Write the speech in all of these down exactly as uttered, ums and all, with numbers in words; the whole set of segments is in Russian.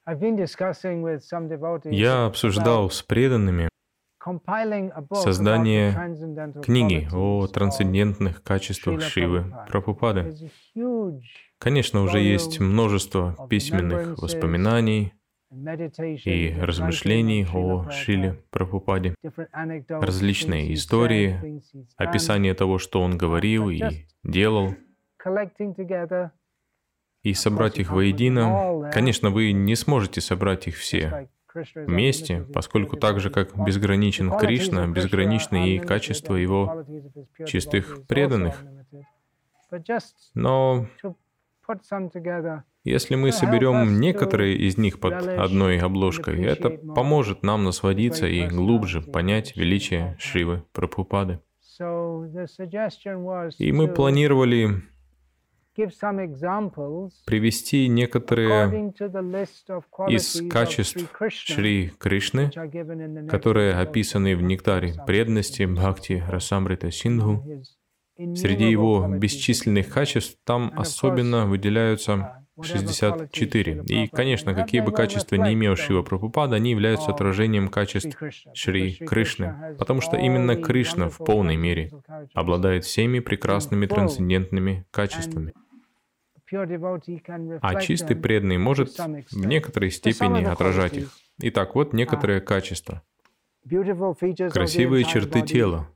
Я обсуждал с преданными создание книги о трансцендентных качествах Шривы Прабхупады. Конечно, уже есть множество письменных воспоминаний и размышлений о Шриле Прабхупаде, различные истории, описание того, что он говорил и делал, и собрать их воедино. Конечно, вы не сможете собрать их все вместе, поскольку так же, как безграничен Кришна, безграничны и качества его чистых преданных. Но если мы соберем некоторые из них под одной обложкой, это поможет нам насладиться и глубже понять величие Шривы Прабхупады. И мы планировали привести некоторые из качеств Шри Кришны, которые описаны в нектаре преданности Бхакти Расамрита Синдху. Среди его бесчисленных качеств там особенно выделяются шестьдесят четыре. И, конечно, какие бы качества не имел Шрила Прабхупада, они являются отражением качеств Шри Кришны, потому что именно Кришна в полной мере обладает всеми прекрасными трансцендентными качествами. А чистый преданный может в некоторой степени отражать их. Итак, вот некоторые качества. Красивые черты тела.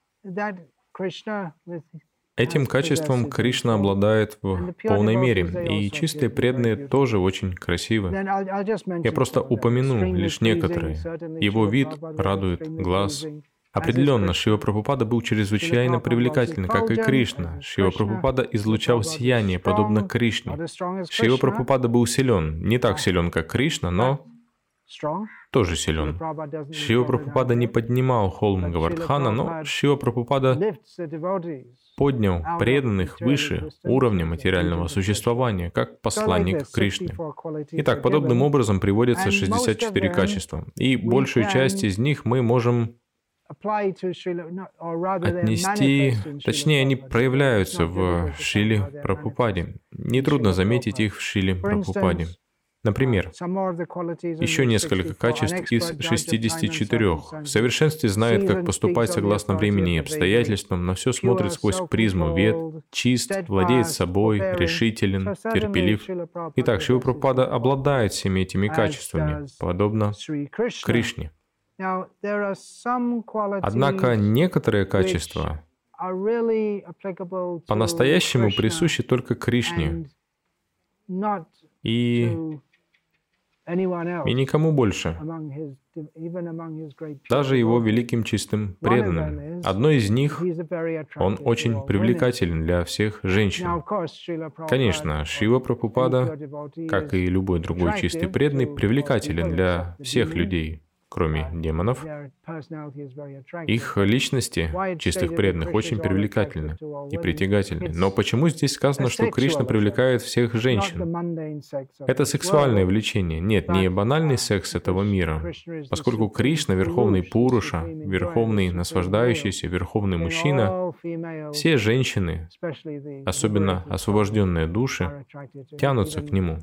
Этим качеством Кришна обладает в полной мере, и чистые преданные тоже очень красивы. Я просто упомяну лишь некоторые. Его вид радует глаз. Определенно, Шрила Прабхупада был чрезвычайно привлекательный, как и Кришна. Шрила Прабхупада излучал сияние, подобно Кришне. Шрила Прабхупада был силен, не так силен, как Кришна, но тоже силен. Шрила Прабхупада не поднимал холм Гавардхана, но Шрила Прабхупада поднял преданных выше уровня материального существования, как посланник Кришны. Итак, подобным образом приводятся шестьдесят четыре качества, и большую часть из них мы можем отнести, точнее, они проявляются в Шриле Прабхупаде. Нетрудно заметить их в Шриле Прабхупаде. Например, еще несколько качеств из шестидесяти четырёх. В совершенстве знает, как поступать согласно времени и обстоятельствам, на все смотрит сквозь призму вед, чист, владеет собой, решителен, терпелив. Итак, Шрила Прабхупада обладает всеми этими качествами, подобно Кришне. Однако некоторые качества по-настоящему присущи только Кришне и, и никому больше, даже его великим чистым преданным. Одно из них, он очень привлекателен для всех женщин. Конечно, Шрила Прабхупада, как и любой другой чистый преданный, привлекателен для всех людей, кроме демонов. Их личности, чистых преданных, очень привлекательны и притягательны. Но почему здесь сказано, что Кришна привлекает всех женщин? Это сексуальное влечение. Нет, не банальный секс этого мира. Поскольку Кришна — верховный Пуруша, верховный наслаждающийся, верховный мужчина, все женщины, особенно освобожденные души, тянутся к нему.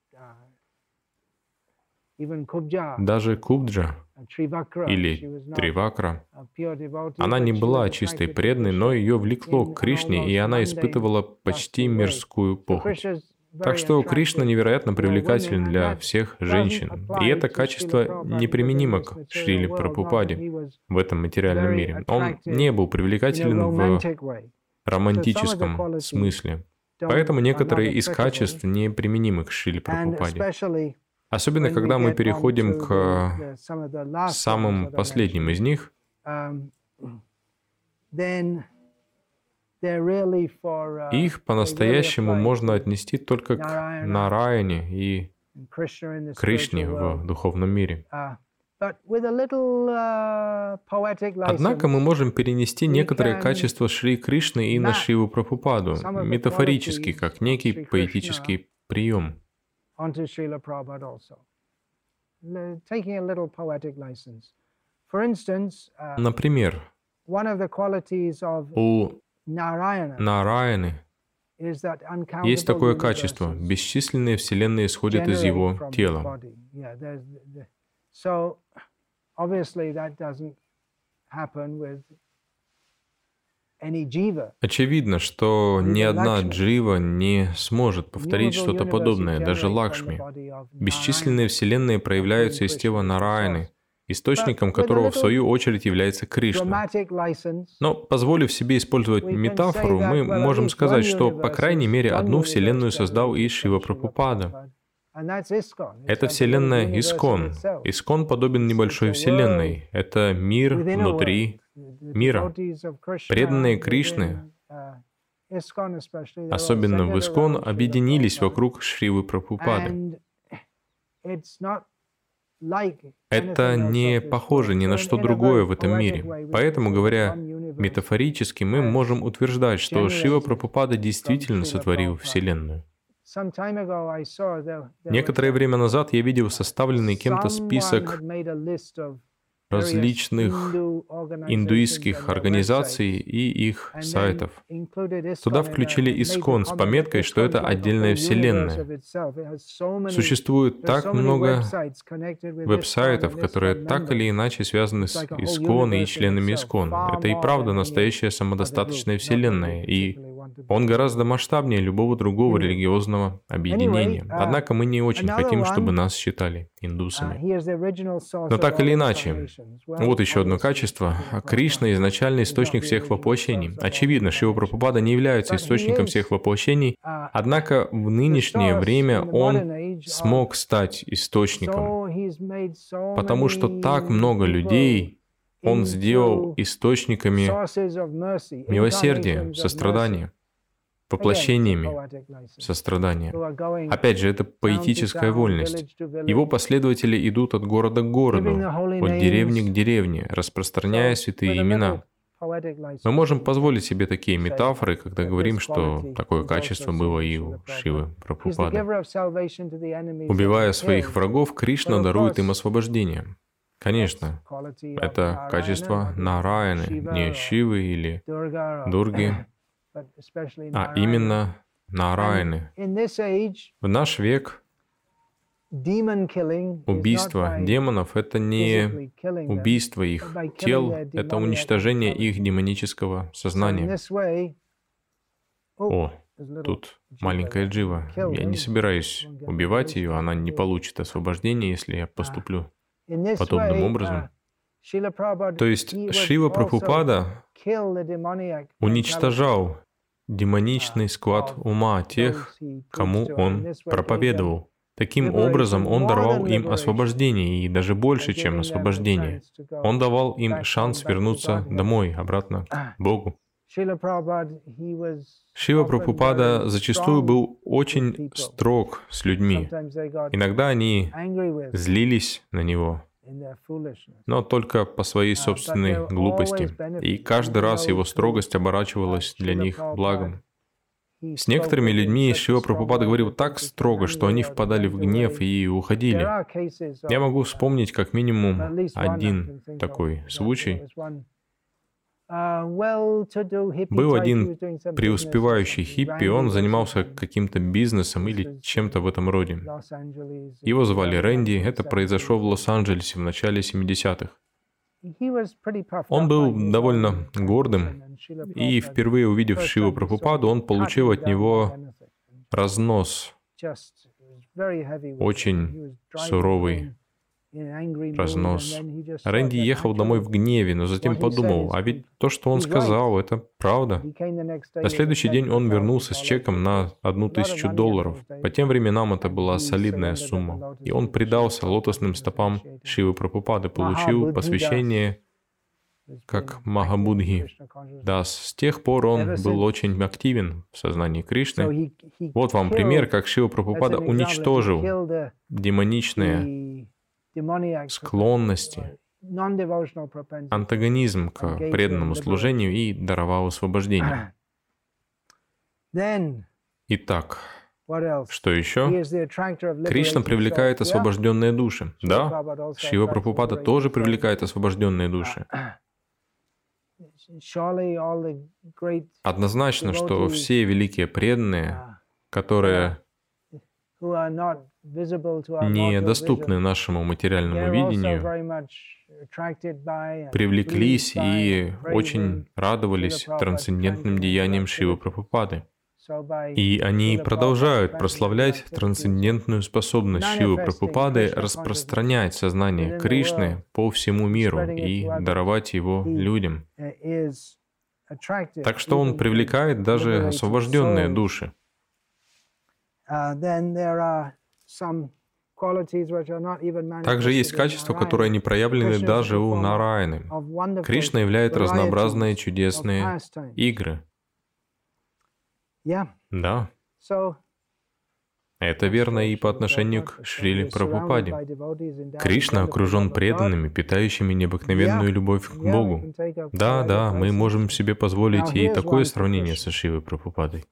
Даже Кубджа или Тривакра, она не была чистой преданной, но ее влекло к Кришне, и она испытывала почти мирскую похоть. Так что Кришна невероятно привлекателен для всех женщин, и это качество неприменимо к Шриле Прабхупаде в этом материальном мире. Он не был привлекателен в романтическом смысле, поэтому некоторые из качеств неприменимы к Шриле Прабхупаде. Особенно, когда мы переходим к самым последним из них, их по-настоящему можно отнести только к Нараяне и Кришне в духовном мире. Однако мы можем перенести некоторые качества Шри Кришны и на Шриву Прабхупаду, метафорически, как некий поэтический прием. Например, у Нараяны Есть такое качество. Бесчисленные вселенные исходят из его тела. Очевидно, что ни одна джива не сможет повторить что-то подобное, даже Лакшми. Бесчисленные вселенные проявляются из тела Нараяны, источником которого, в свою очередь, является Кришна. Но, позволив себе использовать метафору, мы можем сказать, что, по крайней мере, одну вселенную создал и Шрила Прабхупада. Это вселенная Искон. Искон подобен небольшой вселенной. Это мир внутри мира. Преданные Кришны, особенно в Искон, объединились вокруг Шрилы Прабхупады. Это не похоже ни на что другое в этом мире. Поэтому, говоря метафорически, мы можем утверждать, что Шрила Прабхупада действительно сотворил Вселенную. Некоторое время назад я видел составленный кем-то список различных индуистских организаций и их сайтов. Туда включили Искон с пометкой, что это отдельная вселенная. Существует так много веб-сайтов, которые так или иначе связаны с Искон и членами Искон. Это и правда настоящая самодостаточная вселенная, и он гораздо масштабнее любого другого религиозного объединения. Однако мы не очень хотим, чтобы нас считали индусами. Но так или иначе, вот еще одно качество. Кришна – изначальный источник всех воплощений. Очевидно, Шрила Прабхупада не является источником всех воплощений, однако в нынешнее время он смог стать источником, потому что так много людей он сделал источниками милосердия, сострадания, воплощениями сострадания. Опять же, это поэтическая вольность. Его последователи идут от города к городу, от деревни к деревне, распространяя святые имена. Мы можем позволить себе такие метафоры, когда говорим, что такое качество было и у Шривы Прабхупады. Убивая своих врагов, Кришна дарует им освобождение. Конечно, это качество Нараяны, не Шивы или Дурги, а именно Нараяны. В наш век убийство демонов — это не убийство их тел, это уничтожение их демонического сознания. О, тут маленькая джива. Я не собираюсь убивать ее, она не получит освобождения, если я поступлю подобным образом. То есть Шрила Прабхупада уничтожал демоничный склад ума тех, кому он проповедовал. Таким образом, он даровал им освобождение, и даже больше, чем освобождение. Он давал им шанс вернуться домой, обратно к Богу. Шрила Прабхупада зачастую был очень строг с людьми. Иногда они злились на него, но только по своей собственной глупости. И каждый раз его строгость оборачивалась для них благом. С некоторыми людьми Шрила Прабхупада говорил так строго, что они впадали в гнев и уходили. Я могу вспомнить как минимум один такой случай. Был один преуспевающий хиппи, он занимался каким-то бизнесом или чем-то в этом роде. Его звали Рэнди, это произошло в Лос-Анджелесе в начале семидесятых. Он был довольно гордым, и впервые увидев Шрилу Прабхупаду, он получил от него разнос, очень суровый разнос. Рэнди ехал домой в гневе, но затем подумал, а ведь то, что он сказал, это правда. На следующий день он вернулся с чеком на одну тысячу долларов. По тем временам это была солидная сумма. И он предался лотосным стопам Шривы Прабхупады, получил посвящение как Махабудхи Дас. С тех пор он был очень активен в сознании Кришны. Вот вам пример, как Шрила Прабхупада уничтожил демоничные склонности, антагонизм к преданному служению и даровал освобождение. Итак, что еще? Кришна привлекает освобожденные души. Да, Шрила Прабхупада тоже привлекает освобожденные души. Однозначно, что все великие преданные, которые недоступны нашему материальному видению, привлеклись и очень радовались трансцендентным деяниям Шривы Прабхупады. И они продолжают прославлять трансцендентную способность Шривы Прабхупады распространять сознание Кришны по всему миру и даровать его людям. Так что он привлекает даже освобожденные души. Также есть качества, которые не проявлены даже у Нараяны. Кришна являет разнообразные чудесные игры. Да. Это верно и по отношению к Шриле Прабхупаде. Кришна окружен преданными, питающими необыкновенную любовь к Богу. Да, да, мы можем себе позволить и такое сравнение со Шривой Прабхупадой.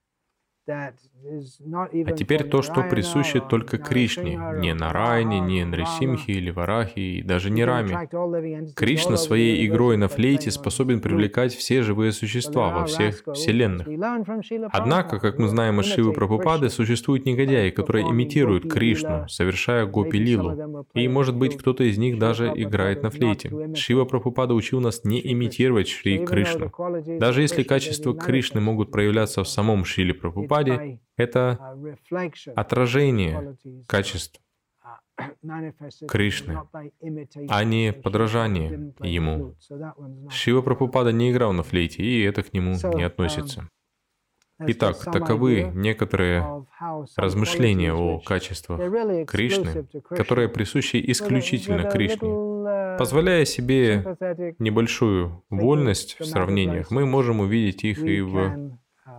А теперь то, что присуще только Кришне, не Нараяне, не Нрисимхе или Варахе, и даже не Раме. Кришна своей игрой на флейте способен привлекать все живые существа во всех вселенных. Однако, как мы знаем из Шривы Прабхупады, существуют негодяи, которые имитируют Кришну, совершая гопи-лилу. И, может быть, кто-то из них даже играет на флейте. Шрила Прабхупада учил нас не имитировать Шри Кришну. Даже если качества Кришны могут проявляться в самом Шриле Прабхупаде, это отражение качеств Кришны, а не подражание ему. Шрила Прабхупада не играл на флейте, и это к нему не относится. Итак, таковы некоторые размышления о качествах Кришны, которые присущи исключительно Кришне. Позволяя себе небольшую вольность в сравнениях, мы можем увидеть их и в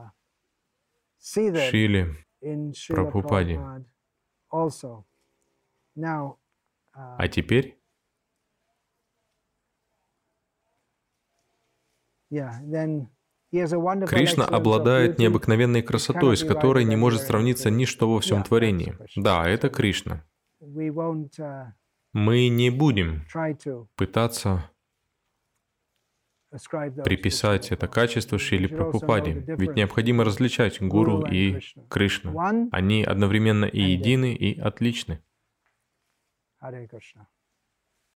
Шриле Прабхупаде. А теперь Кришна обладает необыкновенной красотой, с которой не может сравниться ничто во всем творении. Да, это Кришна. Мы не будем пытаться приписать это качество Шриле Прабхупаде, ведь необходимо различать Гуру и Кришну. Они одновременно и едины, и отличны.